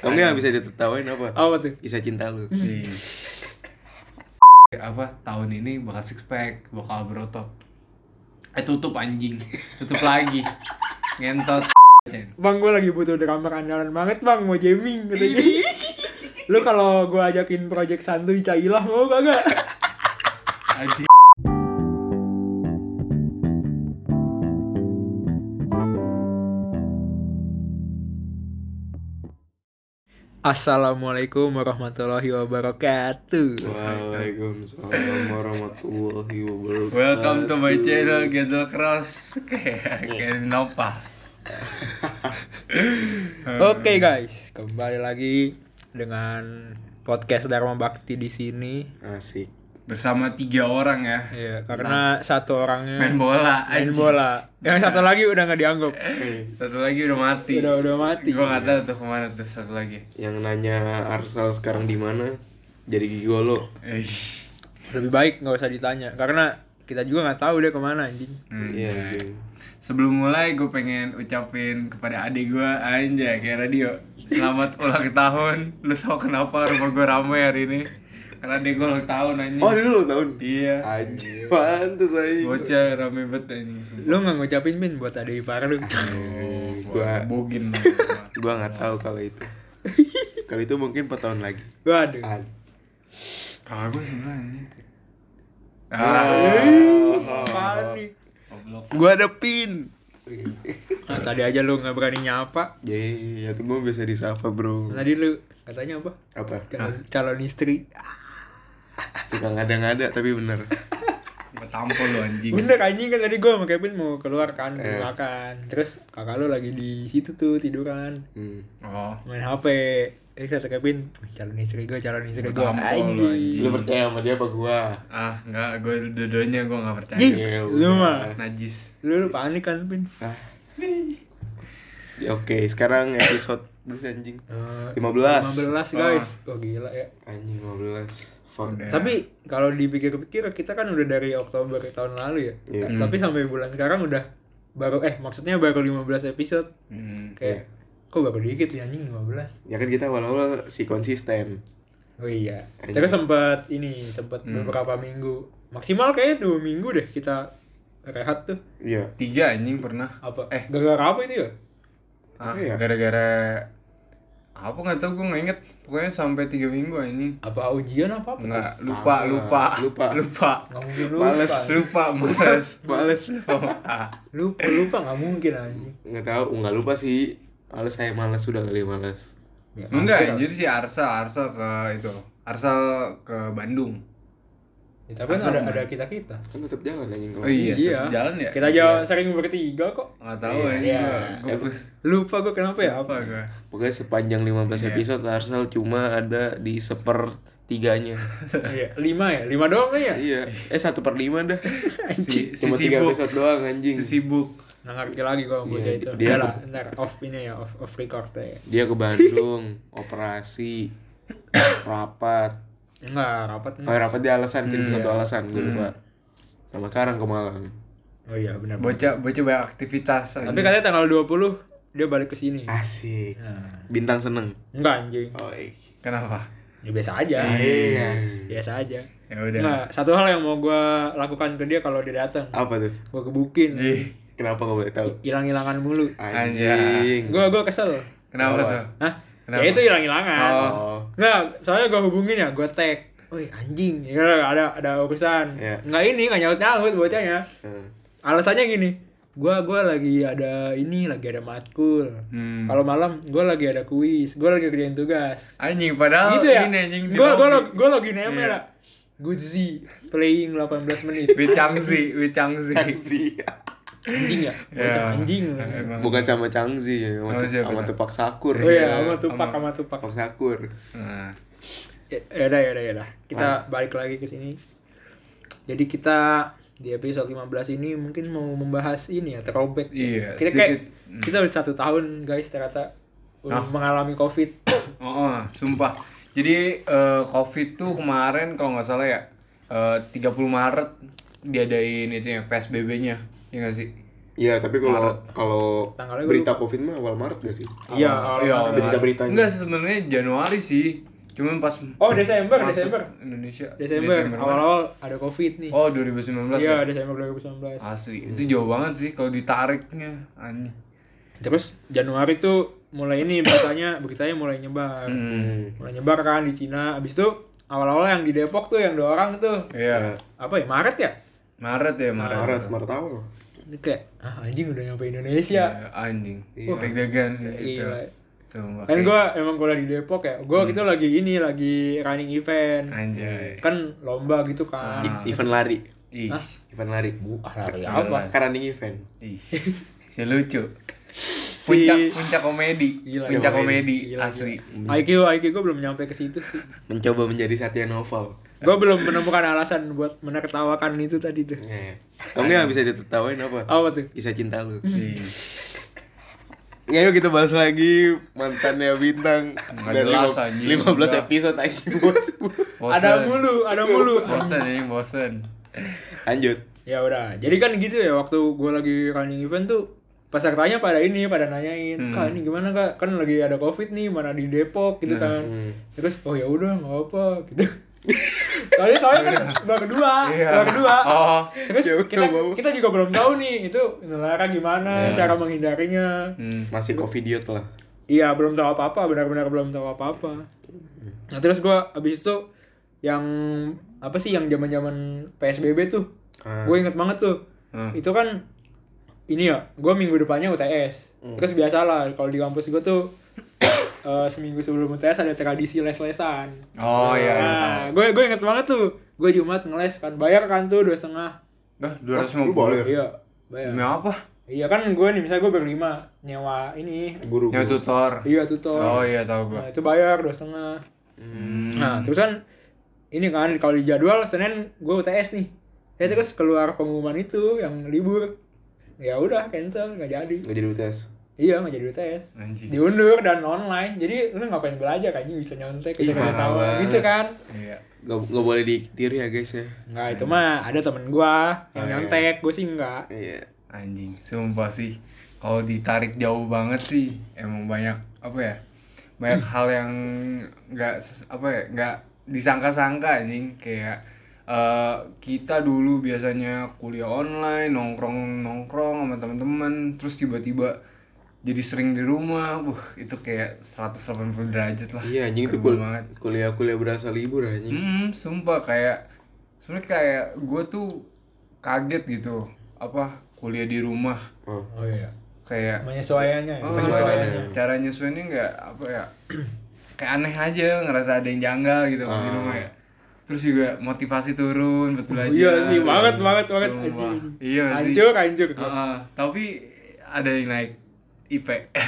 Kamu yang bisa ditertawain apa? Apa tuh? Kisah cinta lu. Apa tahun ini bakal six pack, bakal berotot. Tutup anjing. Tutup lagi. Ngentot. Bang, gue lagi butuh drummer andalan banget bang, mau jamming katanya. Lu kalau gue ajakin project santuy cailah mau kagak? Anjing. Assalamualaikum warahmatullahi wabarakatuh. Waalaikumsalam warahmatullahi wabarakatuh. Welcome to my channel Gezel Cross. Kayak Nova. Oke guys, kembali lagi dengan podcast Dharma Bakti di sini. Asik. Bersama 3 orang ya. Iya, karena satu orangnya Main bola. main anjing. bola. Yang satu lagi udah nggak dianggap. Satu lagi udah mati. Udah mati. Gua nggak tahu tuh kemana tuh satu lagi. Yang nanya Arsal sekarang di mana? Jadi gigolo. Lebih baik nggak usah ditanya, karena kita juga nggak tahu dia kemana anjing. Iya, anjing. Sebelum mulai gue pengen ucapin kepada adik gue anjay kayak radio. Selamat ulang tahun. Lu tau kenapa rumah gue ramai hari ini? Karena adik gue ulang tahun anjing. Oh, dulu tahun. Iya. Anjing, pantes anjing. Bocah rame banget anjing. Lu nggak ngucapin Min buat adik ipar lu? Gua Bogin. gua enggak tahu kalau itu. Kalau itu mungkin 4 tahun lagi. Waduh. Kakak gue sebenarnya. Panik. Goblok. Gua ada pin. Nah, tadi aja lu nggak berani nyapa. Ya tuh gua biasa disapa, Bro. Tadi lu katanya apa? Apa? Calon istri. Suka ngada-ngada tapi bener. Tampol lu anjing. Bener anjing, kan tadi gua sama Kevin mau keluar kan, mau makan. Terus kakak lu lagi di situ tuh tiduran, Oh. main HP. Kata Kevin, calon istri gue. Tampol lu, Anjing. Lu percaya sama dia apa gua? Enggak, gue dua-duanya gue enggak percaya. Jing, Ya lu udah. mah. Najis. Lu panik kan, Pin? Ya, oke, sekarang episode berapa anjing? 15. 15 guys. Oh gila ya. Anjing 15. Fuck. Udah. Tapi kalau dipikir-pikir kita kan udah dari Oktober tahun lalu ya. Iya. Tapi sampai bulan sekarang udah maksudnya baru 15 episode. Kayak kok baru dikit ya anjing 15. Ya kan kita awal-awal si konsisten. Oh iya. Anjing. Terus sempat beberapa minggu. Maksimal kayak 2 minggu deh kita rehat tuh. Iya. 3 anjing pernah. Apa? Gara-gara apa itu ya? Iya. Gara-gara apa nggak tahu gue nggak inget. Pokoknya sampai 3 minggu anjing. Apa ujian apa? Enggak, lupa. Nggak mungkin lupa. Males. Males. Lupa nggak mungkin anjing. Nggak tahu, nggak lupa sih. Males sudah kali males. Ya, Enggak, jadi si Arsal ke Bandung. Ya, tapi kan ada kita. Kan tetap jalan anjing kalau. Oh iya, Iya. tetep jalan ya? Kita aja sering bertiga kok. Nggak tahu Iya. Gue Lupa gue kenapa ya? apa gue? Pokoknya sepanjang 15 Iya. episode Arsal cuma ada di 1/3-nya. Iya, 5 ya? 5 doang kan ya? Iya. 1/5 dah. Anjing. Cuma 3 episode doang anjing. Si sibuk. Nggak ngerti lagi gue bocah Iya, itu. dia- Udah lah, ntar off record ya. Dia ke Bandung, operasi, rapat. Enggak, rapat Oh, rapat dia alasan sih, satu alasan gue lupa. Sama sekarang ke Malang. Oh iya benar. Bocah banyak aktivitas. Tapi katanya tanggal 20 dia balik ke sini. Asik. Nah, Bintang seneng. enggak anjing. Oh, Kenapa? Ya biasa aja. iya. Biasa aja. Ya udah. Enggak, satu hal yang mau gue lakukan ke dia kalau dia datang, Apa tuh? gue kebukin. Kenapa gak boleh tahu? Hilang-hilangan mulu. Anjing. Gue kesel. Kenapa Kenapa? tuh? Hah? Kenapa? Ya itu hilang-hilangan. Oh. Nggak, soalnya gue hubungin ya, gue tag. Woi anjing, ya ada urusan. Iya. Nggak nyaut bocahnya. Hmm. Alasannya gini, gue lagi ada matkul. Kalau malam gue lagi ada kuis, gue lagi kerjain tugas. Anjing padahal Gitu ya? ini anjing. Gue lagi nempel Iya. ya. Goodzy playing 18 menit. With Changzi. Changzi. Anjing ya, bocah Ya. anjing. Emang. Bukan sama Changzi ya, Oh, siapa sama tuh? Tupak Sakur. Oh iya, sama Tupak. Tupak Sakur. Nah, Ya udah. Kita balik lagi ke sini. Jadi kita di episode 15 ini mungkin mau membahas ini ya, throwback. Iya, Kita udah 1 tahun guys ternyata mengalami COVID. sumpah. Jadi COVID tuh kemarin kalau nggak salah ya 30 Maret diadain itu ya PSBB-nya. Ya nggak sih? Iya, tapi kalau Tanggalnya berita Covid mah awal Maret gak sih? Iya, Iya, awal- Berita-beritanya. Enggak, sebenarnya Januari sih. Cuman pas Oh, Desember. Indonesia. Awal-awal ada Covid nih. Oh, 2019 ya? Iya, Desember 2019. Asli, itu jauh banget sih kalau ditariknya. Anjing. Terus Januari tuh mulai ini beritanya mulai nyebar. Mulai nyebar kan di Cina. Abis itu awal-awal yang di Depok tuh yang 2 orang tuh. Iya. Apa ya? Maret ya? Maret ya, Maret. Maret awal. Itu kayak anjing udah nyampe Indonesia. Iya, anjing. Deg-degan sih itu. Gila. Sumpah, Kan kayak- gue emang kuliah di Depok ya. Gue gitu lagi running event. Anjay. Kan lomba gitu kan. Event lari. Ih. Event lari. Lari apa? Kan running event. Ih. Si lucu. Si- Puncak komedi. Gila. Puncak komedi Gila, asli. IQ gue belum nyampe ke situ sih. Mencoba menjadi Satya Noval. Gue belum menemukan alasan buat menertawakan itu tadi tuh. Iya. Kamu nggak bisa ditertawain apa? Apa tuh? Kisah cinta lu. Ih. Ya, yuk kita bahas lagi mantannya Bintang. Nggak Dari jelas, anjing. 15 Udah. episode anjing bos. Bosen. Ada mulu. Bosen ya, bosen. Lanjut. Ya udah. Jadi kan gitu ya waktu gue lagi running event tuh pesertanya pada nanyain, "Kak, ini gimana, Kak? Kan lagi ada Covid nih, mana di Depok gitu kan." Terus oh ya udah enggak apa gitu. Soalnya kan udah kedua. Oh. Terus Ya udah, kita juga belum tahu nih itu nelara gimana, cara menghindarinya. Masih Covidiot lah. Iya, belum tahu apa-apa, benar-benar belum tahu apa-apa. Nah, terus gua abis itu yang apa sih yang zaman-zaman PSBB tuh. Gue inget banget tuh. Itu kan ini ya, gue minggu depannya UTS. Terus biasalah kalau di kampus gue tuh seminggu sebelum UTS ada tradisi les-lesan. Oh iya. Nah, gue inget banget tuh. Gue Jumat ngeles kan, bayar kan tuh 2,5. Dah, Lu 250. bayar? Iya, bayar. Demi apa? Iya kan gue nih, misalnya gue berlima nyewa ini. Guru. Yang tutor. Iya, tutor. Oh iya, tahu gua. Nah, itu bayar 2,5. Nah, terus kan ini kan kalau di jadwal Senin gue UTS nih. Ya terus keluar pengumuman itu yang libur. Ya udah cancel, nggak jadi. Nggak jadi UTS. Iya, nggak jadi UTS. Anjing. Diundur dan online. Jadi lu ngapain belajar kan? Bisa nyontek ke parah sawah banget. gitu kan. Iya. Nggak boleh ditiru ya guys ya. Nggak, itu mah ada temen gua yang nyontek, gue sih enggak. Iya. Anjing, sumpah sih. Kalau ditarik jauh banget sih, emang banyak apa ya? Banyak hal yang nggak disangka-sangka anjing. Kayak kita dulu biasanya kuliah online, nongkrong sama teman-teman, terus tiba-tiba jadi sering di rumah. Itu kayak 180 derajat lah. Iya anjing itu Keren banget. kuliah berasa libur anjing. Sumpah kayak sebenarnya kayak gue tuh kaget gitu. Apa kuliah di rumah Oh. Oh iya. kayak Menyesuaiannya ya. cara nyesuainya nggak apa ya, kayak aneh aja, ngerasa ada yang janggal gitu di rumah ya. Terus juga motivasi turun, betul aja. Iya sih, banget. Sumpah. Anjing. Iya sih. Hancur. Tapi ada yang naik IP.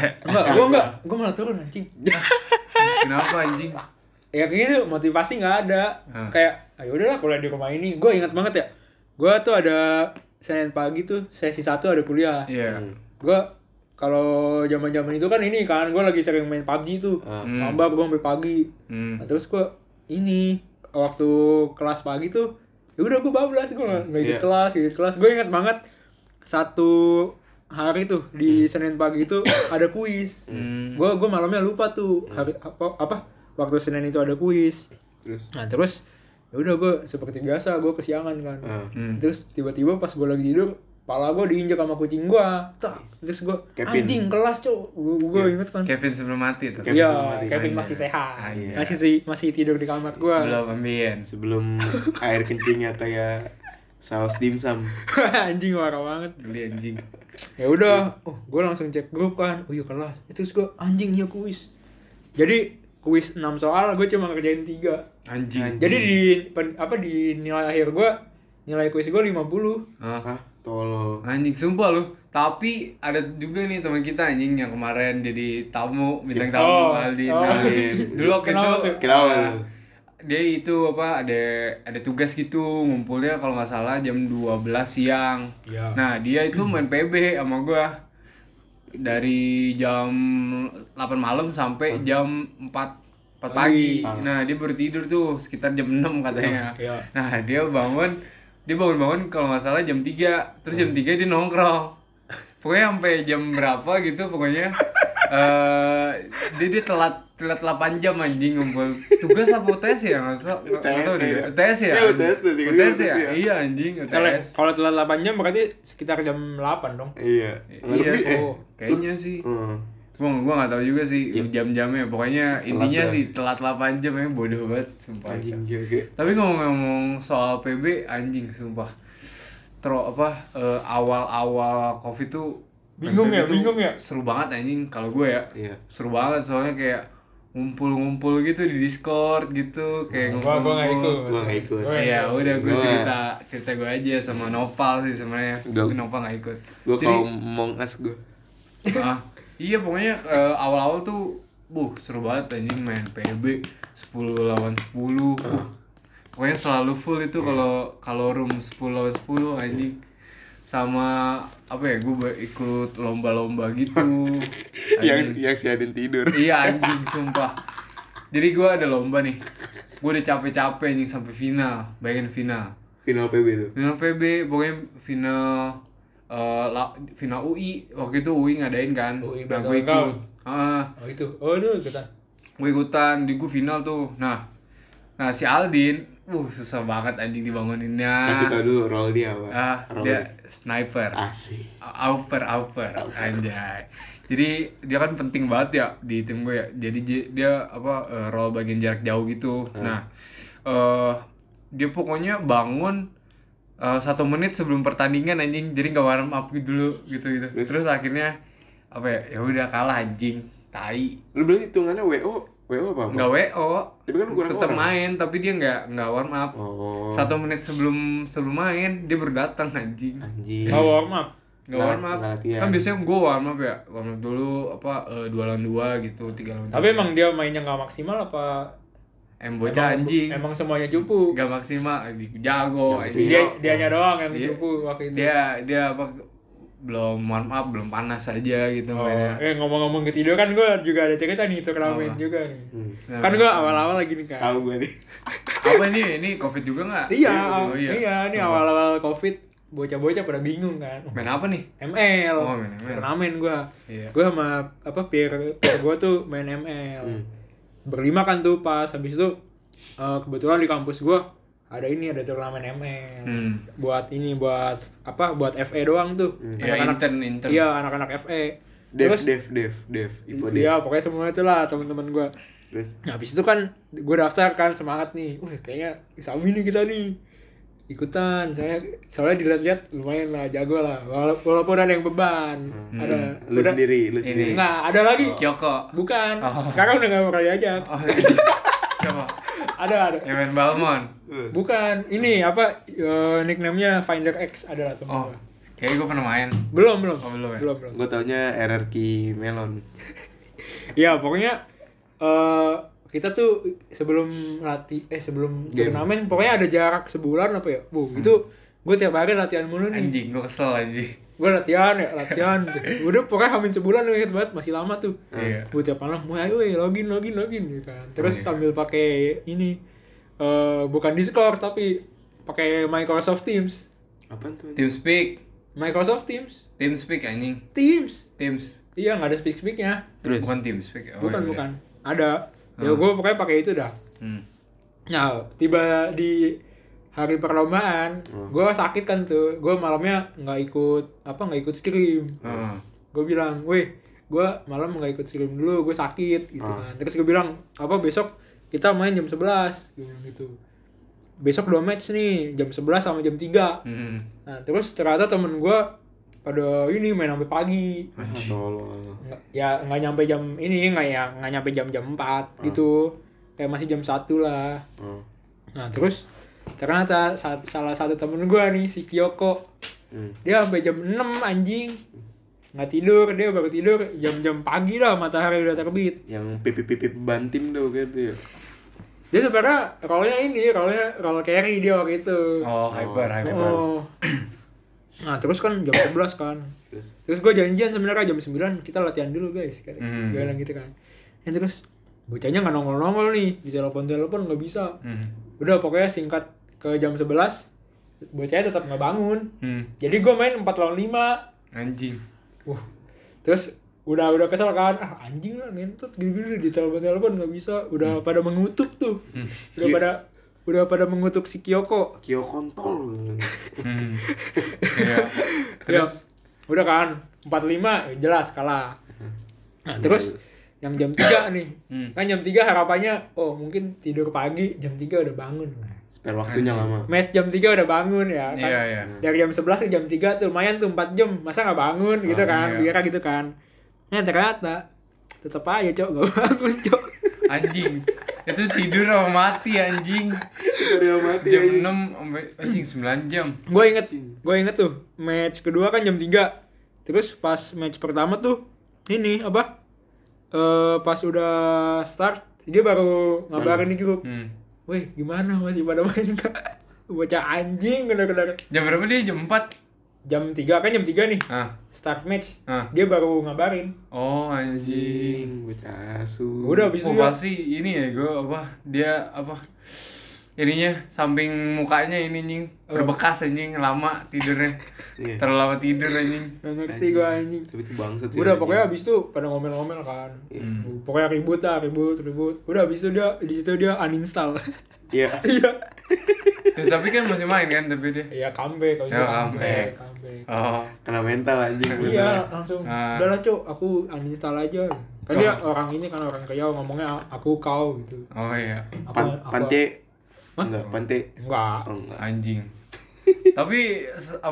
Gue malah turun anjing. Kenapa anjing? Ya kayak gitu, motivasi nggak ada. Kayak, ayo udahlah kuliah di rumah ini. Gue ingat banget ya. Gue tuh ada Senin pagi tuh sesi 1 ada kuliah. Iya. Gue kalau zaman-zaman itu kan ini kan gue lagi sering main PUBG tuh. Ngambak gue sampai pagi. Nah, terus gue ini waktu kelas pagi tuh ya udah gue bablas, gue nggak ikut kelas. Gue ingat banget satu hari tuh di Senin pagi itu ada kuis. Gue malamnya lupa tuh hari apa waktu Senin itu ada kuis. Terus ya udah gue seperti biasa gue kesiangan kan. Terus tiba-tiba pas gue lagi tidur, pala gue diinjak sama kucing gue. Terus gue anjing kelas cok. Gue inget kan. Kevin sebelum mati tuh. Iya, Kevin masih sehat. Masih tidur di kamar gue. Belum ambien. Sebelum air kencingnya kayak saus dimsum. Anjing marah banget. Beli anjing. Ya udah, gue langsung cek grup kan. Oh iya kelas. Terus gue anjing iya kuis. Jadi kuis 6 soal gue cuma ngerjain 3. Anjing. Jadi di nilai akhir gue, nilai kuis gue 50. Hah? Tolol. Anjing sumpah lu. Tapi ada juga nih teman kita anjing yang kemarin jadi tamu, bintang tamu Aldin. Dulu waktu itu Kenapa? Dia itu apa ada tugas gitu, ngumpulnya kalau nggak salah jam 12 siang. Iya. Nah, dia itu main PB sama gua. Dari jam 8 malam sampai jam 4 pagi. Nah, dia baru tidur tuh sekitar jam 6 katanya. Iya. Nah, dia bangun kalau nggak salah jam 3. Terus jam 3 dia nongkrong. Pokoknya sampai jam berapa gitu pokoknya. Dia telat 8 jam anjing ngumpul. Tugas apa UTS ya? Enggak tahu deh. UTS ya? UTS ya? Iya anjing, UTS. Kalau telat 8 jam berarti sekitar jam 8 dong. Iya. Iya sih. Kayaknya sih. Gua enggak tahu juga sih jam-jamnya. Pokoknya intinya sih telat 8 jam ya, bodoh banget sumpah. Anjing jaga. Tapi ngomong soal PB anjing sumpah. Awal-awal Covid tuh Bingung PB tuh ya? seru banget anjing kalau gue ya. Iya. Seru banget soalnya kayak ngumpul gitu di Discord gitu kayak Gua nggak ikut. Gua nggak ikut. Iya, udah gue cerita gue aja sama Noval sih sebenarnya. Tapi Noval nggak ikut. Gua kalau Among Us gua. Iya pokoknya awal-awal tuh seru banget anjing main PB 10 lawan 10. Pokoknya selalu full itu kalau room 10 lawan 10 anjing. Sama apa ya, gue ikut lomba-lomba gitu. yang si Adin tidur. Iya anjing sumpah. Jadi gue ada lomba nih. Gue udah capek-capek anjing sampai final. Bayangin final. Final PB itu. Final PB pokoknya final UI. Waktu itu UI ngadain kan. UI nah, gue ikut. Itu ikutan. Gue ikutan di gue final tuh. Nah si Aldin susah banget anjing dibanguninnya. Kasih tau dulu role dia apa. Dia sniper. Asik. Auper anjay. Jadi dia kan penting banget ya di tim gue ya. Jadi dia role bagian jarak jauh gitu. Nah, dia pokoknya bangun 1 menit sebelum pertandingan anjing. Jadi enggak warm up gitu. Terus akhirnya ya udah kalah anjing. Tai. Lu berarti hitungannya WO apa? Enggak WO. Tapi kan kurang tetap orang. main, tapi dia enggak warm up. 1 menit sebelum main dia baru datang anjing. Nggak warm up. Nggak warm up. Kan biasanya gue warm up ya. Warm up dulu 2 lawan 2 gitu, 3 lawan 3. Tapi emang dia mainnya nggak maksimal apa? Bocah anjing. Emang semuanya cupu. Nggak maksimal, jago. Dianya doang yang cupu waktu itu. Dia belum warm up, belum panas aja gitu mainnya. Ngomong-ngomong ketidur kan gue juga ada cerita nih turnamen juga nih. Kan gue awal-awal lagi nih kan. Tahu gue nih. Apa ini Covid juga nggak? Iya, ini awal-awal Covid bocah-bocah pada bingung kan. Main apa nih? ML. Main ML. Turnamen gue. Iya. Gue sama peer gue tuh main ML. Berlima kan tuh pas habis itu kebetulan di kampus gue ada turnamen ML. Buat FE doang tuh. Intern. Iya, anak-anak FE. Dev. Ipo Dev. Iya, pokoknya semua itulah teman-teman gue. Terus Habis itu kan gue daftar kan semangat nih. Kayaknya Sabi nih kita nih. Ikutan. Soalnya dilihat-lihat lumayan lah, jago lah. Walaupun ada yang beban. Ada. Lu sendiri. Enggak, ada lagi. Kyoko. Bukan. Sekarang udah enggak bakal diajak. Siapa? Ada. Yang main Balmon. Bukan. Ini nickname-nya Finder X ada lah temen gue. Kayaknya gue pernah main. Belum belum ya? Belum. gue taunya RRQ Melon. Ya, pokoknya kita tuh sebelum turnamen pokoknya ada jarak sebulan apa ya. Itu gue tiap hari latihan mulu nih. Anjing, gue kesel anjing. Gue latihan. Udah pokoknya hamin sebulan inget banget, masih lama tuh. Iya. Gue tiap malam, ayo login gitu kan. Terus sambil pakai ini bukan Discord tapi pakai Microsoft Teams. Apaan tuh? TeamSpeak. Microsoft Teams. TeamSpeak anjing. Teams. Iya, nggak ada speak-speaknya. Terus bukan TeamSpeak. Bukan. Ada. Ya gue pokoknya pakai itu dah. Nah, tiba di hari perlombaan, gue sakit kan tuh. Gue malamnya nggak ikut scrim. Gue bilang, gue malam nggak ikut scrim dulu, gue sakit gitu kan. Terus gue bilang, besok kita main jam 11 gitu. Besok 2 match nih, jam 11 sama jam 3. Nah, terus ternyata temen gue pada ini main sampai pagi. Nggak nyampe jam ini, nggak nyampe jam 4 gitu. Kayak masih jam 1 lah. Nah, terus ternyata salah satu temen gue nih, si Kyoko. Dia sampai jam 6 anjing. Nggak tidur, dia baru tidur jam-jam pagi lah, matahari udah terbit. Yang pipi bantim tuh gitu ya. Dia sebenarnya role carry dia waktu itu. Hyper. Nah, terus kan jam 11 kan. Terus gue janjian sebenarnya jam 9 kita latihan dulu guys. Gue bilang gitu kan. Ya terus bocahnya nggak nongol nih, di telepon nggak bisa. Udah pokoknya singkat ke jam 11 bocahnya tetap nggak bangun. Jadi gue main 4 lawan 5. Anjing. Terus udah kesel kan, anjing lah ngentot gini-gini di telepon nggak bisa, udah pada mengutuk tuh, udah pada mengutuk si Kyoko kontol. Terus udah kan 45 jelas kalah. Nah, terus yang jam 3 nih. Kan jam 3 harapannya mungkin tidur pagi, jam 3 udah bangun. Spare waktunya lama. Mes jam 3 udah bangun ya kan. Iya. Dari jam 11 ke jam 3 tuh lumayan tuh 4 jam. Masa enggak bangun gitu kan? Iya. Kira gitu kan. Nah, ternyata tetep aja, Cok, enggak bangun, Cok. Anjing. Itu tidur sama mati anjing. Tidur sama mati. Jam 6 sampai anjing 9 jam. Gue inget tuh match kedua kan jam 3. Terus pas match pertama tuh ini apa? Pas udah start dia baru ngabarin di grup. Weh, gimana masih pada main gak? Bocah anjing bener-bener. Jam berapa dia? Jam 4? Jam 3 kan jam 3 nih. Start match. Dia baru ngabarin. Oh anjing. Bocah asu. Udah habis itu pasti ini ya gue dia ininya samping mukanya ini anjing berbekas anjing lama tidurnya. Terlalu lama tidur anjing. Nggak ngerti gue anjing. Tapi itu bangsat sih. Udah pokoknya habis itu pada ngomel-ngomel kan. Pokoknya ribut. Udah habis itu dia uninstall. Iya. Terus tapi kan masih main kan tapi dia. Iya, comeback kalau comeback. Oh. Kena mental anjing. Iya, langsung. Udahlah, Cok, aku uninstall aja. Kan dia orang ini kan orang Riau ngomongnya aku kau gitu. Oh iya. Pante. Enggak, Pante. Enggak. Oh, enggak. Anjing. Tapi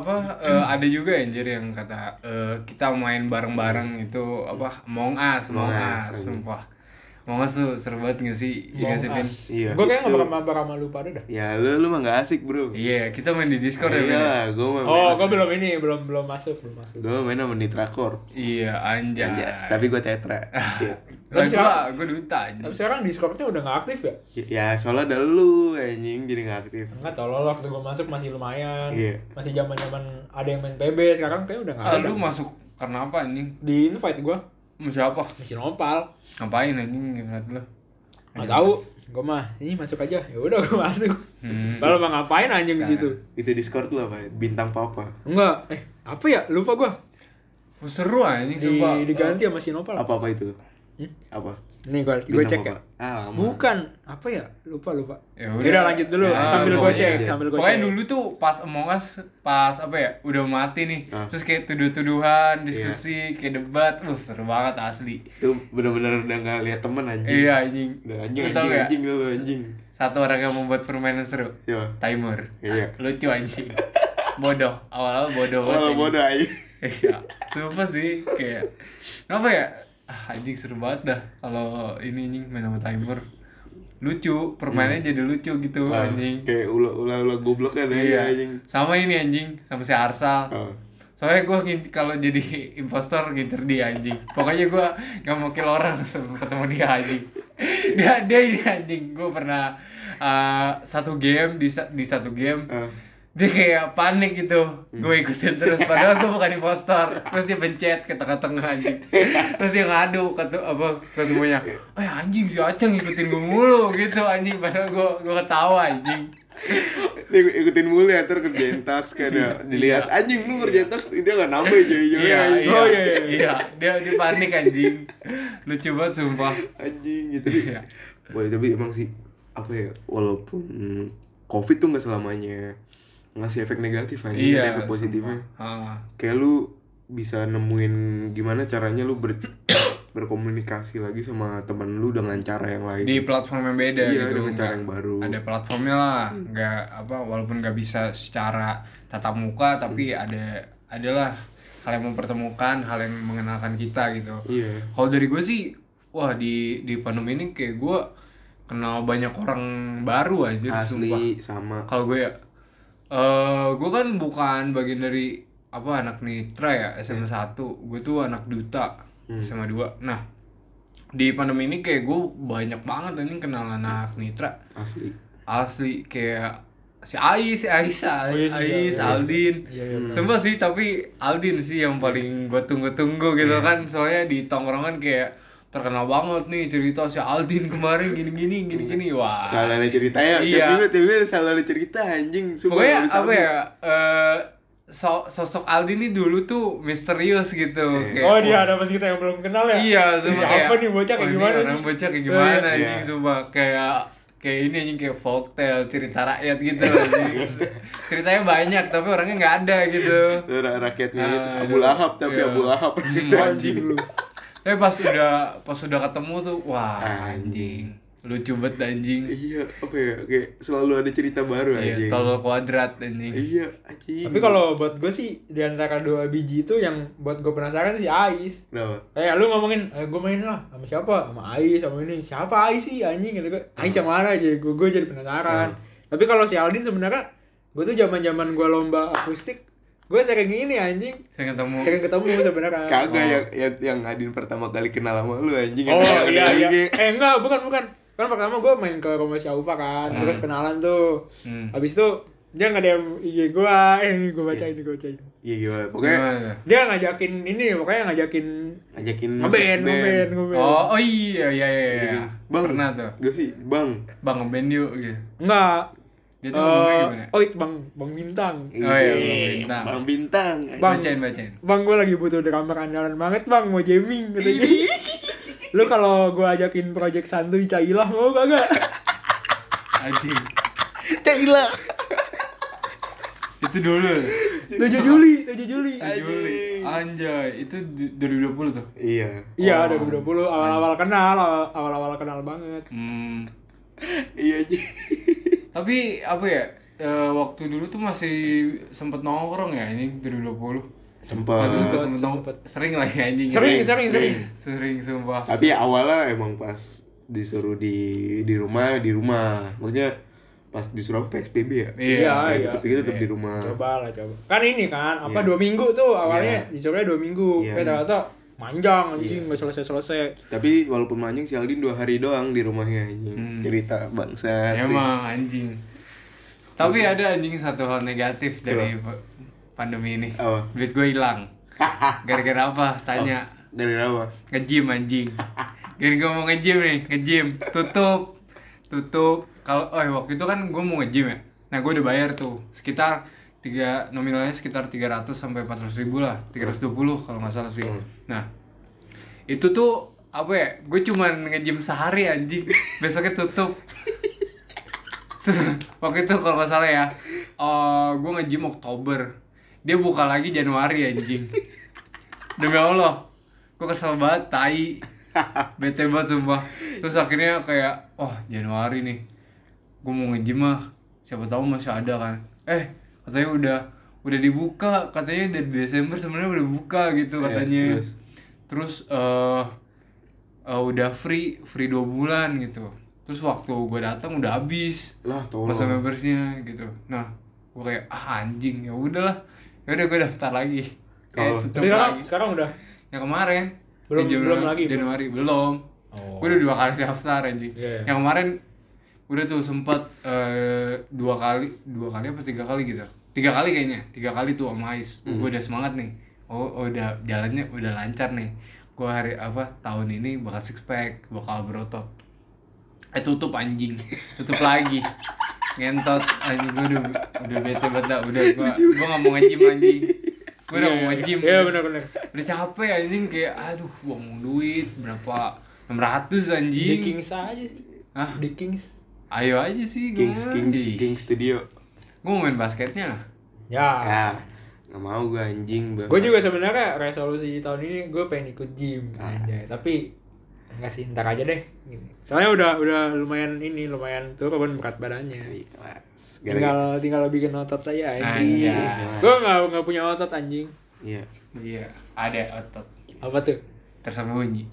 ada juga anjir yang kata kita main bareng-bareng itu Among Us, sumpah. Among Us tuh seru banget nggak sih? Iya. Gue kayaknya nggak mabar sama lu pada dah. Ya lu mah nggak asik bro. Iya, kita main di Discord ya. Iya, gue main. Gue belum masuk. Gue main sama Nitra Corps. Iya, anjay. Tapi gue tetra. Tapi gue duta anjing. Tapi sekarang Discordnya udah nggak aktif ya? Ya soalnya ada lu anjing jadi nggak aktif. Enggak, tolol, waktu gue masuk masih lumayan. Iya. Masih zaman ada yang main PB, sekarang kayak udah nggak ada. Lu masuk karena apa anjing? Di invite gue. Sama siapa? Mesin opal. Ngapain anjing ngeliat lu? Nggak tahu. Gue mah ini masuk aja. Ya udah gue masuk. Kalau mau ngapain anjing di situ? Itu Discord lu apa? Bintang papa. Enggak. Apa ya? Lupa gue. Seru anjing sumpah. Diganti sama Mesin opal. Apa itu lu? Apa? Nih gue cek ya. Bukan, apa ya? Lupa. Ya udah lanjut dulu sambil gue cek, Pokoknya dulu tuh pas Among Us udah mati nih. Terus kayak tuduh-tuduhan, diskusi, kayak debat, seru banget asli. Itu bener-bener udah enggak lihat temen anjing. Iya anjing. Anjing lu anjing. Satu orang yang membuat permainan seru. Iya. Timer. Iya. Lucu anjing. Bodoh. Awal-awal bodoh banget. Bodoh aja. Iya. Sumpah sih kayak kenapa ya? Anjing seru banget dah kalau ini main sama Timer. Lucu, permainannya jadi lucu gitu anjing. Kayak ulah goblok kan anjing. Sama ini anjing, sama si Arsal. Soalnya gue kalau jadi impostor ngincer dia anjing. Pokoknya gue gak mau kill orang sebelum ketemu dia anjing. Dia ini anjing. Gue pernah satu game di satu game. Dia kayak panik gitu, gue ikutin terus padahal gue bukan impostor. Terus dia pencet ke tengah-tengah anjing. Terus dia ngadu ke semuanya. Anjing si Aceng ikutin gue mulu gitu anjing. Padahal gue ketawa anjing. Dia ikutin mulu ya, terus kerjain task kayak dilihat anjing lu kerjain task dia enggak nambah hijau-hijaunya. Iya. Dia panik anjing. Lucu banget sumpah. Anjing gitu. Wah, tapi emang sih apa ya, walaupun Covid tuh enggak selamanya ngasih efek negatif aja, ada efek positifnya. Kayak lu bisa nemuin gimana caranya lu berkomunikasi lagi sama teman lu dengan cara yang lain. Di platform yang beda gitu. Dengan cara yang baru. Ada platformnya lah, walaupun nggak bisa secara tatap muka, tapi adalah hal yang mempertemukan, hal yang mengenalkan kita gitu. Iya. Kalau dari gue sih, di pandemi ini kayak gue kenal banyak orang baru aja. Asli, sama. Kalau gue gue kan bukan bagian dari anak Nitra ya, SMA 1. Gue tuh anak Duta, SMA 2. Nah, di pandemi ini kayak gue banyak banget ini kenal anak Nitra. Asli kayak si Ais, Aldin. Sumpah sih, tapi Aldin sih yang paling gue tunggu-tunggu gitu kan. Soalnya di tongkrongan kayak terkenal banget nih cerita si Aldin kemarin gini. Wah. Salah cerita ya. Iya. Tapi salah cerita anjing. Pokoknya sosok Aldi nih dulu tuh misterius gitu. Kayak, oh dia ada kita yang belum kenal ya? Iya, siapa nih bocah kayak gimana sih? Orang bocah kayak gimana nih, coba kayak ini anjing, kayak folktale, cerita rakyat gitu anjing. Ceritanya banyak tapi orangnya nggak ada gitu. Rakyatnya Abu Lahab tapi Abu Lahab anjing lu. Tapi pas udah ketemu tuh, wah anjing. Lucu banget anjing. Iya, apa ya, kayak selalu ada cerita baru anjing. Iya, tol kuadrat anjing. Iya, anjing. Tapi kalau buat gue sih di antara dua biji itu yang buat gue penasaran sih Ais. Kenapa? Kayak lu ngomongin, gue main lah sama siapa? Sama Ais, sama ini. Siapa Ais sih anjing gitu kan? Ais yang mana aja? Gue jadi penasaran. Tapi kalau si Aldin sebenarnya gue tuh zaman-zaman gue lomba akustik, gue sering gini anjing. Sering ketemu sebenarnya. Kagak yang Adin pertama kali kenal sama lu anjing. Oh iya. Enggak, bukan. Kan pertama gue main ke rumah si Aufa kan, terus kenalan tuh. Habis itu dia nge-DM IG gue, gue bacain. Iya gimana? Pokoknya dia ngajakin ngeband. Oh iya. Bang, pernah tuh. Gue sih, Bang ngeband yuk gitu. Enggak. Dia tuh ngomongnya gimana? Oh, Bang Bintang. Oh iya, Bintang. Bang Bintang. Bacain. Bang, gue lagi butuh drummer andalan banget, Bang, mau jamming katanya. Lu kalau gue ajakin project santuy Cailah mau kagak? Anjing. Cailah. Itu dulu. 7 Juli. Anjay, itu 2020 tuh. Iya, 2020 awal-awal kenal banget. Iya aja. Tapi apa ya? Waktu dulu tuh masih sempet nongkrong ya ini 2020. Sempet sering lah ya anjing. Sering sumpah. Tapi awalnya emang pas disuruh di rumah. Maksudnya pas disuruh PSBB ya. Iya. Tetap di rumah. Coba. Kan ini kan 2 minggu tuh awalnya disuruhnya 2 minggu. Ternyata manjang anjing enggak selesai. Tapi walaupun manjang si Aldin 2 hari doang di rumahnya anjing. Cerita bangsa. Emang anjing. Tapi ada anjing satu hal negatif dari pandemi ini. Duit gue hilang. Gara-gara apa? Tanya. Gara-gara apa? Nge-gym anjing. Gara-gara gue mau nge-gym. Tutup. Kalau waktu itu kan gue mau nge-gym ya. Nah, gue udah bayar tuh sekitar nominalnya sekitar 300 sampai 400 ribu lah. 320 kalau nggak salah sih. Nah, itu tuh apa ya? Gue cuman nge-gym sehari anjing. Besoknya tutup. Waktu itu kalau nggak salah ya, gue nge-gym Oktober. Dia buka lagi Januari anjing. Demi Allah, gue kesel banget, tai. Bete banget sumpah. Terus akhirnya kayak, Januari nih, gue mau nge-gym mah, siapa tahu masih ada kan. Katanya udah dibuka, katanya dari Desember sebenarnya udah buka gitu katanya. Terus udah free 2 bulan gitu. Terus waktu gue datang udah habis masa membersnya gitu. Nah, gue kayak anjing, ya udahlah. Yaudah gue daftar lagi. Tapi sekarang udah? Yang kemarin belum lagi? Januari belum. Gue udah 2 kali daftar anjing. Yang kemarin udah tuh sempat 2 kali apa 3 kali gitu. 3 kali kayaknya. 3 kali tuh sama Ais. Gue udah semangat nih. Udah jalannya udah lancar nih. Gue tahun ini bakal six pack, bakal berotot. Tutup anjing. Tutup lagi. Ngentot anjing, gue udah bete banget. Gue gak mau nge-gym anjing. Gue udah mau nge-gym. Iya benar. Udah capek anjing, kayak buang duit berapa 600 anjing. Di Kings aja sih. Hah? Di Kings. Ayo aja sih. Kings Studio. Gue mau main basketnya. Ya. Gak mau gue anjing. Gue juga sebenarnya resolusi tahun ini gue pengen ikut gym. Tapi enggak sih, ntar aja deh. Soalnya udah lumayan turun berat badannya. Tinggal bikin otot aja anjing. Gue enggak punya otot anjing. Iya, ada otot. Apa tuh? Tersembunyi.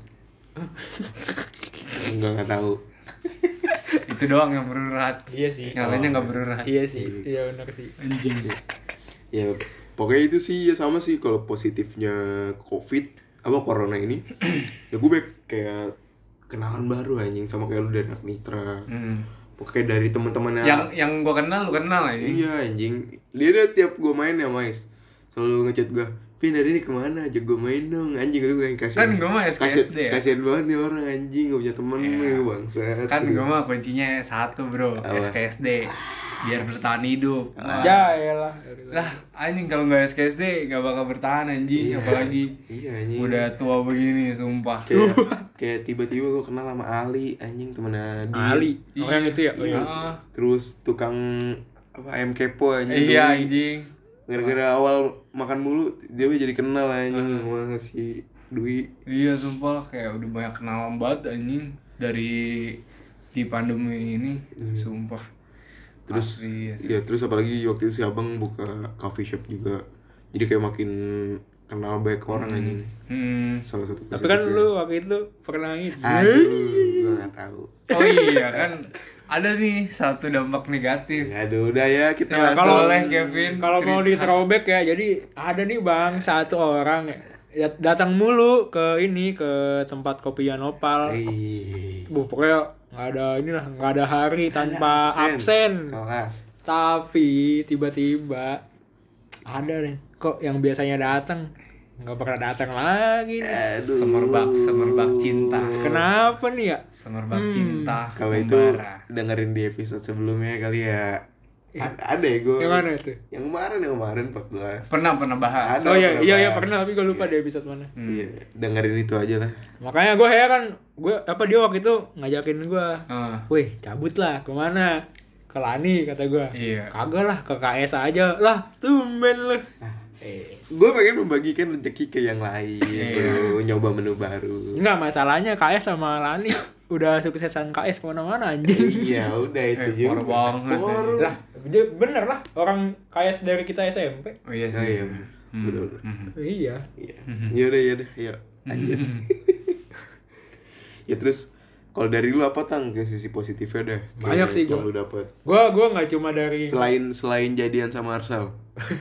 Enggak tahu. Itu doang yang berurat. Iya sih. Yang lainnya enggak berurat. Iya sih. Iya benar sih. Anjing. Ya, pokoknya itu sih ya sama sih kalau positifnya COVID corona ini. Ya gue kayak kenalan baru anjing sama kayak lu dari anak Mitra. Pokoknya dari teman-temannya yang gue kenal lu kenal anjing. Iya anjing. Dia tiap gue main ya Mais selalu ngechat gue, "Pin hari ini kemana? Ajak gue main dong." Anjing itu kayak kasihan. Kan gue mah SKSD ya. Kasihan banget nih orang anjing gak punya temen nih bangsat. Kan gue mah kuncinya 1 bro, SKSD. biar bertahan hidup. Ya elah. Lah anjing kalau nggak SKSD nggak bakal bertahan anjing, apalagi anjing. Udah tua begini sumpah. Kayak tiba-tiba gue kenal sama Ali anjing, temen Adi. Ali yang itu ya. Terus tukang ayam kepo anjing. Iya anjing. Gara-gara awal makan mulu dia jadi kenal anjing sama si Dwi. Iya sumpah kayak udah banyak kenalan banget anjing dari di pandemi ini, sumpah. Terus asli. Ya terus apalagi waktu itu si abang buka coffee shop juga, jadi kayak makin kenal banyak orang anjing. Salah satu tapi kan lu waktu itu pernah itu. Aduh, gue nggak tahu. Oh iya kan ada nih satu dampak negatif. Aduh udah ya kita Ya, kalau Kevin kalau mau di throwback ya, jadi ada nih bang satu orang ya datang mulu ke tempat kopi Nopal. Pokoknya nggak ada hari tanpa absen. Kelas. Tapi tiba-tiba ada nih kok yang biasanya datang nggak pernah datang lagi nih. Aduh. Semerbak cinta. Kenapa nih ya? Semerbak cinta. Kalau itu dengerin di episode sebelumnya kali ya. Ada ya gue. Yang mana itu? Yang kemarin 14. Pernah bahas. Oh iya pernah, tapi gue lupa di episode mana. Iya, dengerin itu aja lah. Makanya gue heran, dia waktu itu ngajakin gue, weh cabut lah kemana? Ke Lani kata gue. Iya. Kagak lah, ke KS aja lah, tumben lu. Gue pengen membagikan rezeki ke yang lain, bro. Nyoba menu baru. Enggak, masalahnya KS sama Lani udah suksesan KS kemana-mana anjing. Iya udah itu juga. Banget. Lah, bener lah, orang KS dari kita SMP. Oh iya sih. Bener. Iya. Yaudah, yuk lanjut. Ya terus kalau dari lu apa Tang ke sisi positifnya dah? Banyak sih yang lu dapet. Gue nggak cuma dari selain jadian sama Arsal.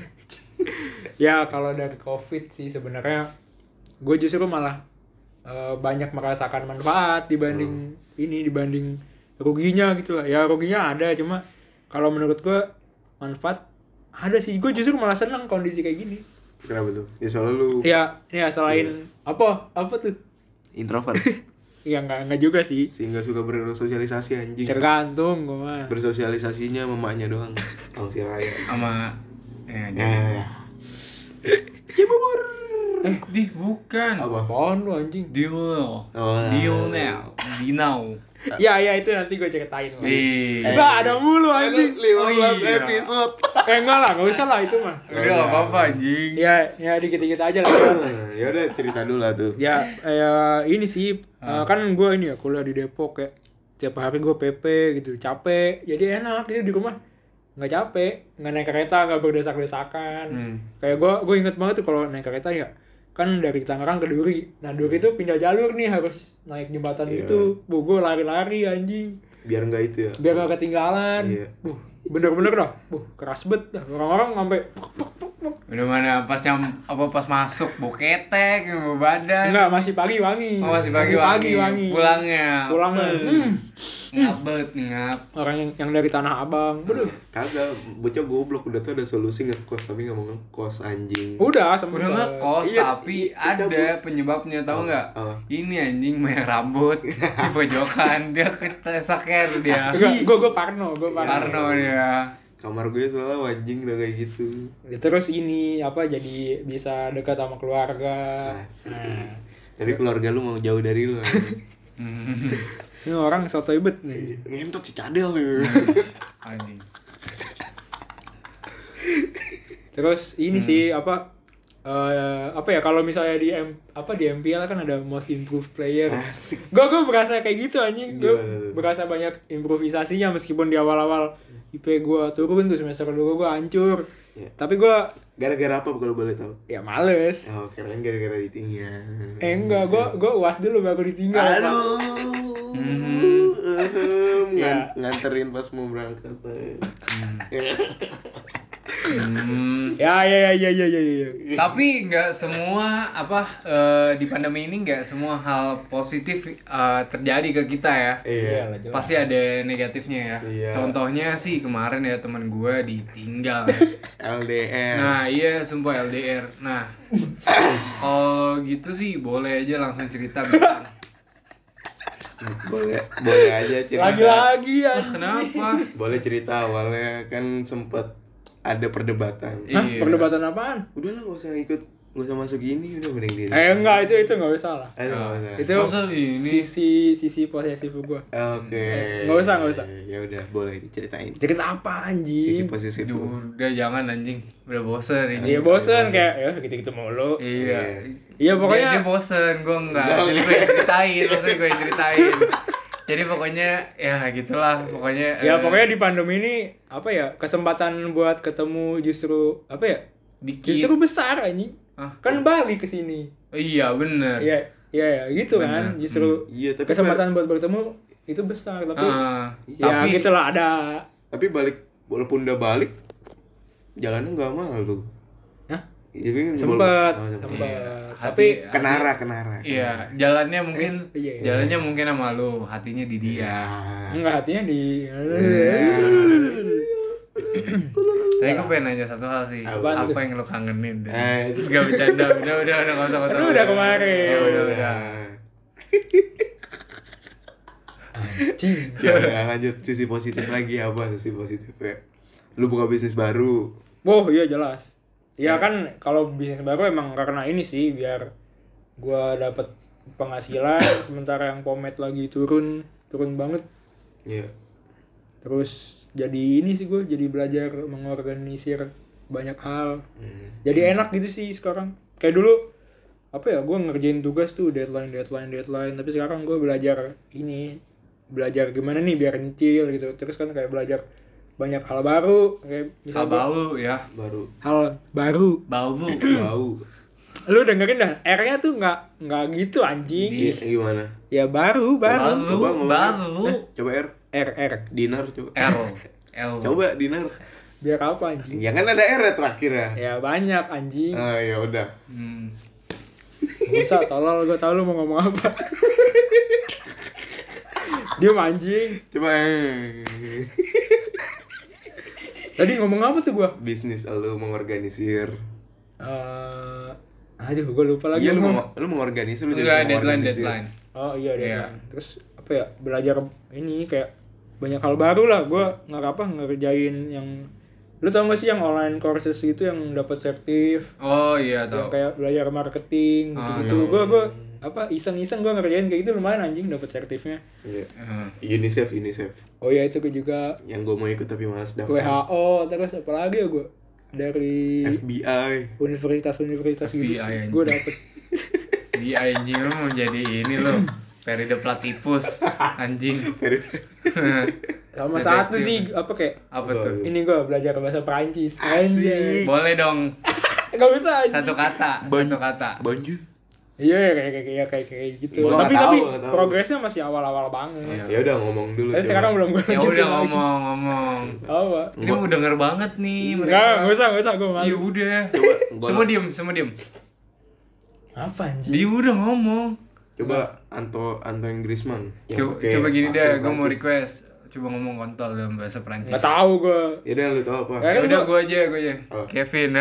Ya kalau dari COVID sih sebenarnya gue justru malah banyak merasakan manfaat dibanding dibanding ruginya gitu lah. Ya ruginya ada, cuma kalau menurut gue manfaat ada sih. Gue justru malah senang kondisi kayak gini. Kenapa tuh? Ya soalnya lu ya selain apa tuh? Introvert. Ya enggak juga sih. Sehingga suka bersosialisasi anjing. Tergantung gue mah. Bersosialisasinya sama emaknya doang. Sama si Raya. Sama ya. Cibubur. Bukan. Apaan lu anjing? Dinau. Ya itu nanti gue ceritain lah. Enggak ada mulu anjing. 15 episode. Enggak lah, enggak usah lah itu mah. Udah enggak apa-apa anjing. Ya dikit-dikit aja lah. Ya udah cerita dulu lah tuh. Ya ini sih kan gue kuliah di Depok ya. Tiap hari gue PP gitu, capek. Jadi enak gitu di rumah. Nggak capek, nggak naik kereta, nggak berdesak-desakan. Kayak gue inget banget tuh kalau naik kereta ya, kan dari Tangerang ke Duri. Nah Duri itu pindah jalur nih, harus naik jembatan gitu. Gue lari-lari anjing. Biar nggak itu ya. Biar nggak ketinggalan. Bener-bener dah. Keras bet dah. Orang-orang sampai udah mana pas masuk bau ketek, bau badan. Enggak, masih pagi wangi. Oh, masih pagi wangi. Pulangnya. Ngap. Orang yang dari Tanah Abang. Kagak, bocah goblok udah tuh ada solusi ngekos tapi nggak mau ngekos anjing. Udah ngekos tapi ada penyebabnya, tahu nggak? Ini anjing banyak rambut di pojokan, dia ketesaker dia. Gue parno dia. Kamar gue selalu anjing udah kayak gitu. Terus jadi bisa dekat sama keluarga. Tapi keluarga lu mau jauh dari lu. Ini orang sotoy bet nih. Ngentot si Cadel nih. Anjing. Terus ini sih kalau misalnya di MPL kan ada most improved player. Gue berasa kayak gitu anjing. Gue berasa banyak improvisasinya meskipun di awal-awal IP gue turun tuh semester 2 gue hancur. Tapi gue gara-gara apa kalau boleh tahu? Ya males. Keren gara-gara ditinggal. Enggak, gue UAS dulu baru ditinggal. Aduh. Nganterin pas mau berangkat. Ya. Tapi nggak semua di pandemi ini nggak semua hal positif terjadi ke kita ya. Iya. Pasti ada negatifnya ya. Iya. Contohnya sih kemarin ya teman gue ditinggal. LDR. Nah iya sumpah LDR. Nah kalau gitu sih boleh aja langsung cerita Bintang. Boleh aja cerita. Lagi-lagi ya. Kenapa? Boleh cerita awalnya kan sempet ada perdebatan. Hah? Perdebatan apaan? Udah lah, gak usah masuk gini, udah mending diri. Enggak, itu enggak usah lah. Itu Masa ini? sisi posesif gua. Oke. Enggak usah. Ya udah, boleh diceritain. Cerita apa anjing? Sisi posesif lu. Udah jangan anjing. Udah bosen ini. Iya bosen kayak ya gitu-gitu mulu. Iya. Iya pokoknya Dia bosen, gue enggak. Jadi gue yang ceritain, maksudnya gue yang ceritain. Jadi pokoknya ya gitulah, pokoknya. ya pokoknya di pandemi ini apa ya, kesempatan buat ketemu justru apa ya? Dikit. Justru besar anjing. Hah? Kan balik ke sini. Iya bener. Iya gitu kan. Bener. Justru Iya, tapi kesempatan buat bertemu itu besar tapi ya tapi gitulah ada. Tapi walaupun udah balik, jalannya nggak malu. Hah? Jadi Sempet. Tapi kenara. iya, jalannya mungkin iya. jalannya mungkin sama lu, hatinya di dia. enggak, hatinya di Tapi gue pengen nanya satu hal sih. Apaan Apa tuh? yang lu kangenin? Eh. Gak bercanda, udah enggak usah. Aduh, udah kemarin. Ya udah. Anjing. Ya udah, lanjut sisi positif lagi. Apa sisi positifnya? Lu buka bisnis baru. Wah, iya jelas. Ya kan kalau bisnis baru emang karena ini sih biar gua dapet penghasilan sementara yang pomade lagi turun banget. Iya. Terus jadi ini sih gue jadi belajar mengorganisir banyak hal. Jadi enak gitu sih sekarang. Kayak dulu apa ya, gue ngerjain tugas tuh deadline tapi sekarang gue belajar gimana nih biar nyicil gitu. Terus kan kayak belajar banyak hal baru kayak Hal bau ya. hal baru. Bau. Lu dengerin dah, R-nya tuh nggak gitu anjing. Gimana? Ya baru. Coba ngomong. Baru. Coba R. dinar coba. L. Coba dinar. Biar apa anjing? Ya kan ada R ya terakhir ya. Ya banyak anjing. Ah ya udah. Gak usah, tolol, gue tau lu mau ngomong apa. Dia anjing. Coba Tadi ngomong apa tuh gua? bisnis lu mengorganisir. Aduh, gue lupa lagi. Iya lu mengorganisir, lu Enggak, jadi deadline. Oh iya, deadline. Terus apa ya? Belajar ini kayak banyak hal baru lah. Gue ngerjain yang lu tau gak sih yang online courses gitu yang dapat sertif? Oh iya Yang tahu. kayak belajar marketing gitu-gitu. Gue iseng-iseng gue ngerjain kayak gitu lumayan anjing dapat sertifnya. Iya. UNICEF. Oh iya itu gue juga. Yang gue mau ikut tapi malas daftar. WHO terus apa lagi ya gue dari FBI. universitas gitu. FBI, Gue dapet. Di anjing lu mau jadi ini lu. Peride Platypus anjing. Sama satu sih apa kayak Apa tuh? ini gue belajar bahasa Perancis. Asik. Boleh dong. Gak bisa anjing. Satu kata. Banjir. Iya kayak gitu. Gua Tapi nggak tahu. progresnya masih awal-awal banget. Ya udah ngomong dulu. Tapi sekarang belum gue Ya udah ngomong. Apa? Ini mau denger banget nih Enggak usah gue Ya malu. udah. Coba Semua diem. Apa anjing? Dia udah ngomong. Coba Anto yang Griezmann. Yang pakai Coba gini deh, aksen gue mau Prancis. request. Coba ngomong kontol dalam bahasa Perancis. Enggak tahu gue. Ya udah lu tahu apa? Ya udah gue aja. Oh. Kevin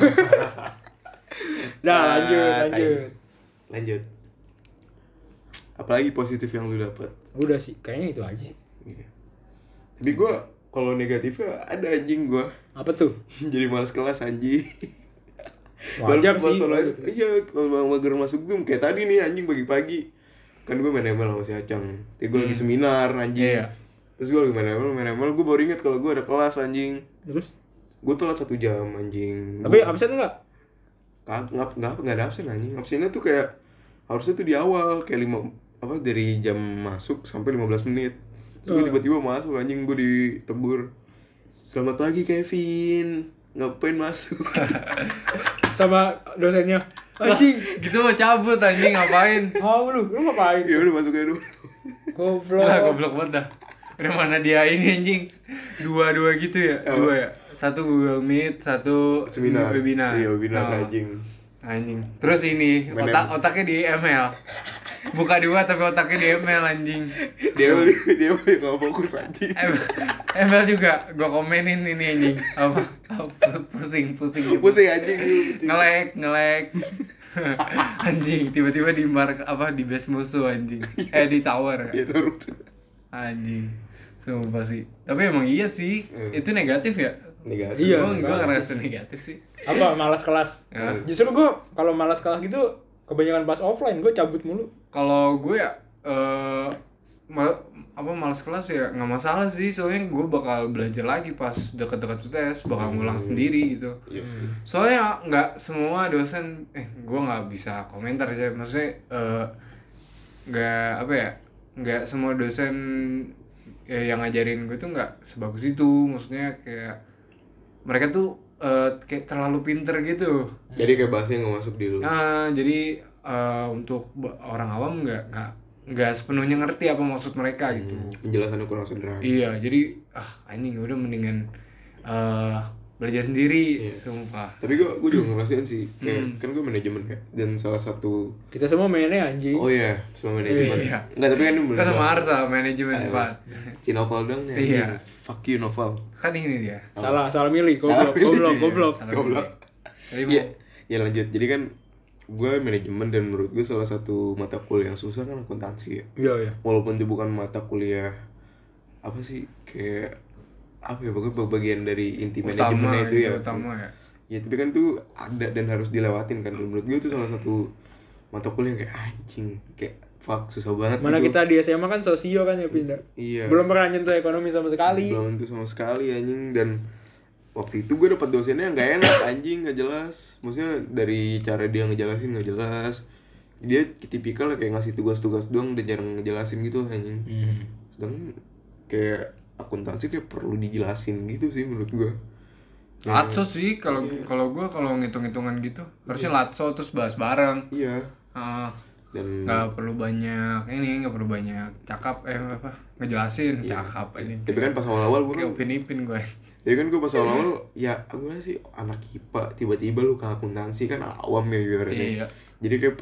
Dah lanjut. Apalagi positif yang lu dapat? Udah sih, kayaknya itu aja. Iya. Tapi gue kalau negatifnya ada anjing gue. Apa tuh? Jadi malas kelas anjing. Wajar sih. Iya, kalau mager masuk Zoom kayak tadi nih anjing pagi-pagi. Kan gue main ML sama si Acang. Tapi gue lagi seminar anjing. Iya. Terus gue lagi main ML, gue baru inget kalau gue ada kelas anjing. Terus? Gue telat 1 jam anjing. Tapi absen enggak? Nggak ada absen anjing. Absennya tuh kayak harusnya tuh di awal kayak dari jam masuk sampai 15 menit. Terus gue tiba-tiba masuk anjing, gue ditegur. Selamat pagi Kevin. Ngapain masuk? Sama dosennya. Anjing. Gitu mau cabut anjing ngapain? Tahu lu ngapain? Ya udah masuk aja dulu. Goblok Banget dah. Udah mana dia ini anjing? Dua gitu ya? Oh. 2 ya? Satu Google Meet, satu Seminar. webinar. Iya, webinar Oh. anjing. Terus ini otaknya di ML. Buka 2 tapi otaknya di ML anjing. Dia nggak fokus anjing. ML juga gua komenin ini anjing. Apa? Pusing. Pusing anjing. Ngelek. Anjing, tiba-tiba di di base musuh anjing. Di tower ya. Anjing. Sumpah sih. Tapi emang iya sih. Itu negatif ya? Negatif. Iya, Gue ngerasa negatif sih. Apa malas kelas? Ya. Justru gue kalau malas kelas gitu kebanyakan pas offline gue cabut mulu. Kalau gue ya malas kelas ya nggak masalah sih, soalnya gue bakal belajar lagi pas dekat-dekat tes, bakal ngulang sendiri gitu. Yes. Soalnya nggak semua dosen, gue nggak bisa komentar sih, maksudnya nggak semua dosen yang ngajarin gue tuh nggak sebagus itu, maksudnya kayak mereka tuh kayak terlalu pinter gitu. Jadi kayak bahasanya nggak masuk di lu. Jadi untuk orang awam nggak sepenuhnya ngerti apa maksud mereka gitu. Penjelasannya kurang sederhana. Iya, jadi anjing udah mendingan belajar sendiri, sumpah. Tapi gue juga ngerasain sih, kayak kan gue manajemen ya, dan salah satu Kita semua mainnya anjing. oh iya, semua manajemen. Iya. Enggak, tapi kan ini Kan sama Arsa manajemen Pak. Cinoval dong ya. Iya. Fuck you Noval. Kan ini dia. Salah milih. Goblok. Salah Goblok. Jadi Iya. Ya lanjut. Jadi kan gue manajemen dan menurut gue salah satu mata kuliah yang susah kan akuntansi ya. Iya. Walaupun itu bukan mata kuliah apa sih, kayak apa ya, pokoknya bagian dari inti manajemennya itu ya. Utama ya. Ya tapi kan tuh ada dan harus dilewatin kan. Dan menurut gue itu salah satu mata kuliah yang kayak anjing, kayak fuck susah banget. Mana gitu. kita di SMA kan sosio kan ya pindah. Iya. Belum pernah nyentuh ekonomi sama sekali. Belum tentu sama sekali anjing. Dan waktu itu gue dapet dosennya yang gak enak anjing, gak jelas. Maksudnya dari cara dia ngejelasin gak jelas. Dia tipikal kayak ngasih tugas-tugas doang dan jarang ngejelasin gitu anjing. Sedangkan kayak akuntansi kayak perlu dijelasin gitu sih menurut gue. Latso sih kalau gue kalau ngitung-hitungan gitu harusnya latso terus bahas bareng. Iya. Dan nggak perlu banyak cakap ngejelasin cakap ini. Tapi kan pas awal-awal gue kan upin-ipin gue. Ya kan gue pas awal-awal ya gue sih anak IPA tiba-tiba lu ke akuntansi kan awam ya ibaratnya. Iya. Jadi kayak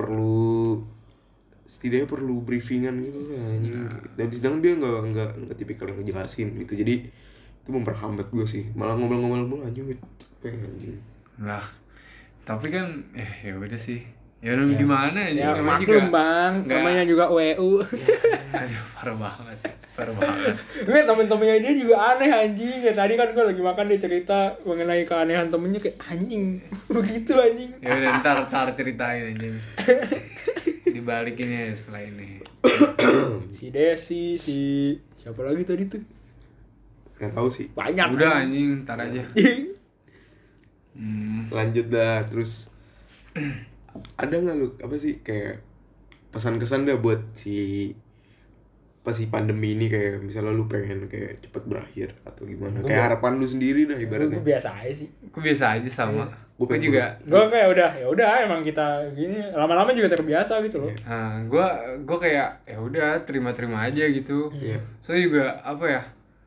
setidaknya perlu briefingan gitu lah anjing. Dan sedangkan dia nggak tipikal yang ngejelasin gitu. Jadi itu memperhambat gue sih. Malah ngobrol-ngobrol mulu anjing gue capek anjing. Nah, tapi kan ya udah sih. Ya udah gimana Ya namanya maklum bang, namanya juga UEU. Aduh parah banget. Gue temen-temennya dia juga aneh anjing. Kayak tadi kan gue lagi makan dia cerita mengenai keanehan temennya kayak anjing. Begitu anjing. Ya udah ntar ceritain anjing. Dibalikinnya setelah ini. Si Desi, si siapa lagi tadi tuh? Gak tahu sih. Banyak. Udah anjing, ntar aja. Lanjut dah terus. Ada nggak lu apa sih kayak pesan-kesan dah buat si pandemi ini, kayak misalnya lu pengen kayak cepet berakhir atau gimana, kayak harapan lu sendiri dah ibaratnya. Gue biasa aja sih. Gue biasa aja sama. Gue juga. Gue kayak udah emang kita gini lama-lama juga terbiasa gitu loh. Nah, gue kayak ya udah terima aja gitu. Soalnya juga apa ya,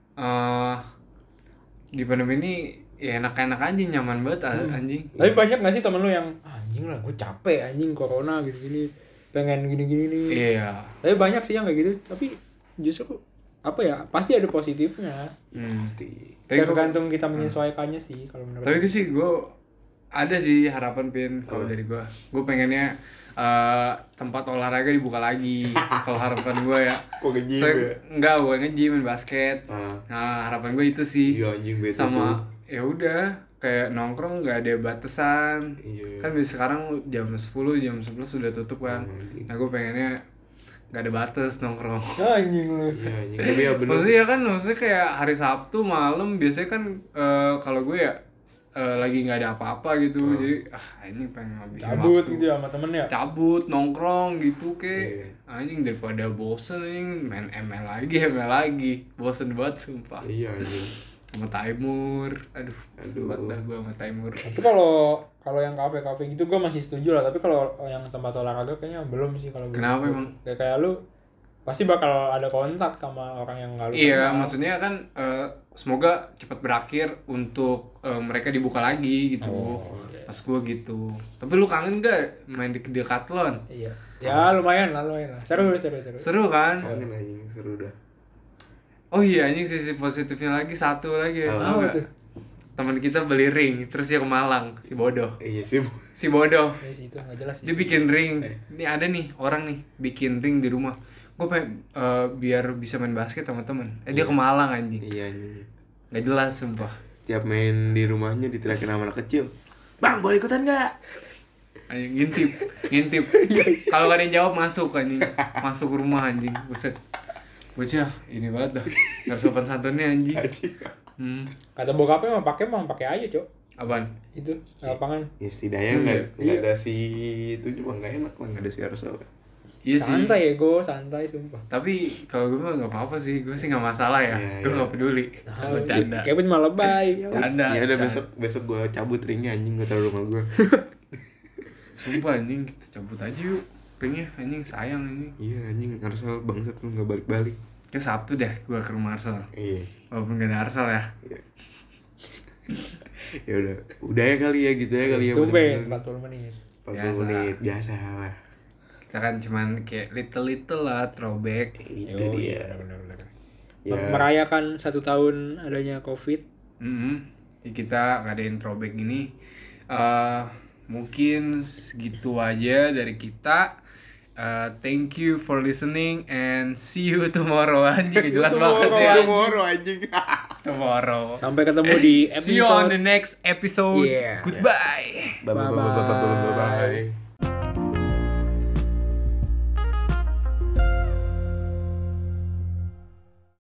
di pandemi ini ya enak-enak anjing, nyaman banget anjing. Tapi banyak gak sih temen lu yang anjing lah gue capek anjing corona gini-gini, pengen gini-gini nih. Iya. Tapi banyak sih yang kayak gitu. Tapi justru apa ya, pasti ada positifnya. Pasti. Tergantung kita menyesuaikannya sih kalau menurut. Tapi sih gue ada sih harapan Pin kalau dari gue. Gue pengennya tempat olahraga dibuka lagi. Kalau harapan gue ya. Kok nge-gym ya? Enggak, gue nge-gym, main basket. Nah, harapan gue itu sih. Iya anjing bete sama tuh. Ya udah kayak nongkrong nggak ada batasan. Kan sekarang jam 10 jam 11 sudah tutup kan. Nah gue pengennya nggak ada batas nongkrong. Anjing lu. Iya anjing. Tapi ya bener. Maksudnya kayak hari Sabtu malam biasanya kan kalau gue ya lagi nggak ada apa-apa gitu. Jadi ini pengen ngabisin cabut waktu. gitu ya sama temen ya. Cabut nongkrong gitu kayak anjing, daripada bosen anjing main ML lagi. Bosen banget sumpah. Iya anjing. Sama Taimur, aduh sempat dah gue sama Taimur. Tapi kalau yang kafe gitu gue masih setuju lah. Tapi kalau yang tempat olahraga kayaknya belum sih kalau. Kenapa emang? Kayak lu pasti bakal ada kontak sama orang yang nggak lu Iya, kenal. maksudnya kan semoga cepat berakhir untuk mereka dibuka lagi gitu. Pas gue gitu. Tapi lu kangen gak main di Decathlon? Iya. Ya lumayan lah. Seru. Seru kan? Kangen anjing, seru dah. Oh iya anjing, sisi positifnya lagi satu lagi ya. Apa tuh? teman kita beli ring terus dia ke Malang, si bodoh. Iya sih. Si bodoh. Itu enggak jelas. Dia bikin ring. Ini ada nih orang nih bikin ring di rumah. Gue pengen biar bisa main basket sama temen. Dia ke Malang anjing. Iya anjing. Gak jelas sumpah. Tiap main di rumahnya diterakin sama anak kecil. Bang, boleh ikutan enggak? Anjing ngintip. Kalau gak ada yang jawab masuk anjing. Masuk rumah anjing. Buset. Bocah, ini banget dah. Gak sopan santunnya anjing. Kata bokapnya mah pakai aja, Cok. Apaan? Itu lapangan. Ya setidaknya enggak ada si itu cuma enggak enak lah, enggak ada si Arsal. Iya santai ya santai sumpah. Tapi kalau gue mah nggak apa-apa sih, gue sih nggak masalah ya, gue nggak peduli. Bercanda. Kevin malah lebay. Ya udah besok gue cabut ringnya anjing, gue taruh rumah gue. Sumpah anjing, kita cabut aja yuk ringnya anjing, sayang anjing. Iya anjing, Arsal bangsat lu nggak balik-balik. Kayak Sabtu deh gue ke rumah Arsal. Iya. Walaupun gak ada Arsal ya. Iya. Ya udah ya kali ya gitu ya kali ya. Tumben 40 menit. 40 menit biasa lah. Kita kan cuman kayak little lah throwback. Itu dia. Bener. Ya. Merayakan 1 tahun adanya COVID. Jadi kita ngadain throwback gini. Mungkin segitu aja dari kita. Thank you for listening and see you tomorrow anjing. Jelas banget ya. Tomorrow anjing. Tomorrow. Sampai ketemu di episode. See you on the next episode. Yeah. Goodbye. Bye.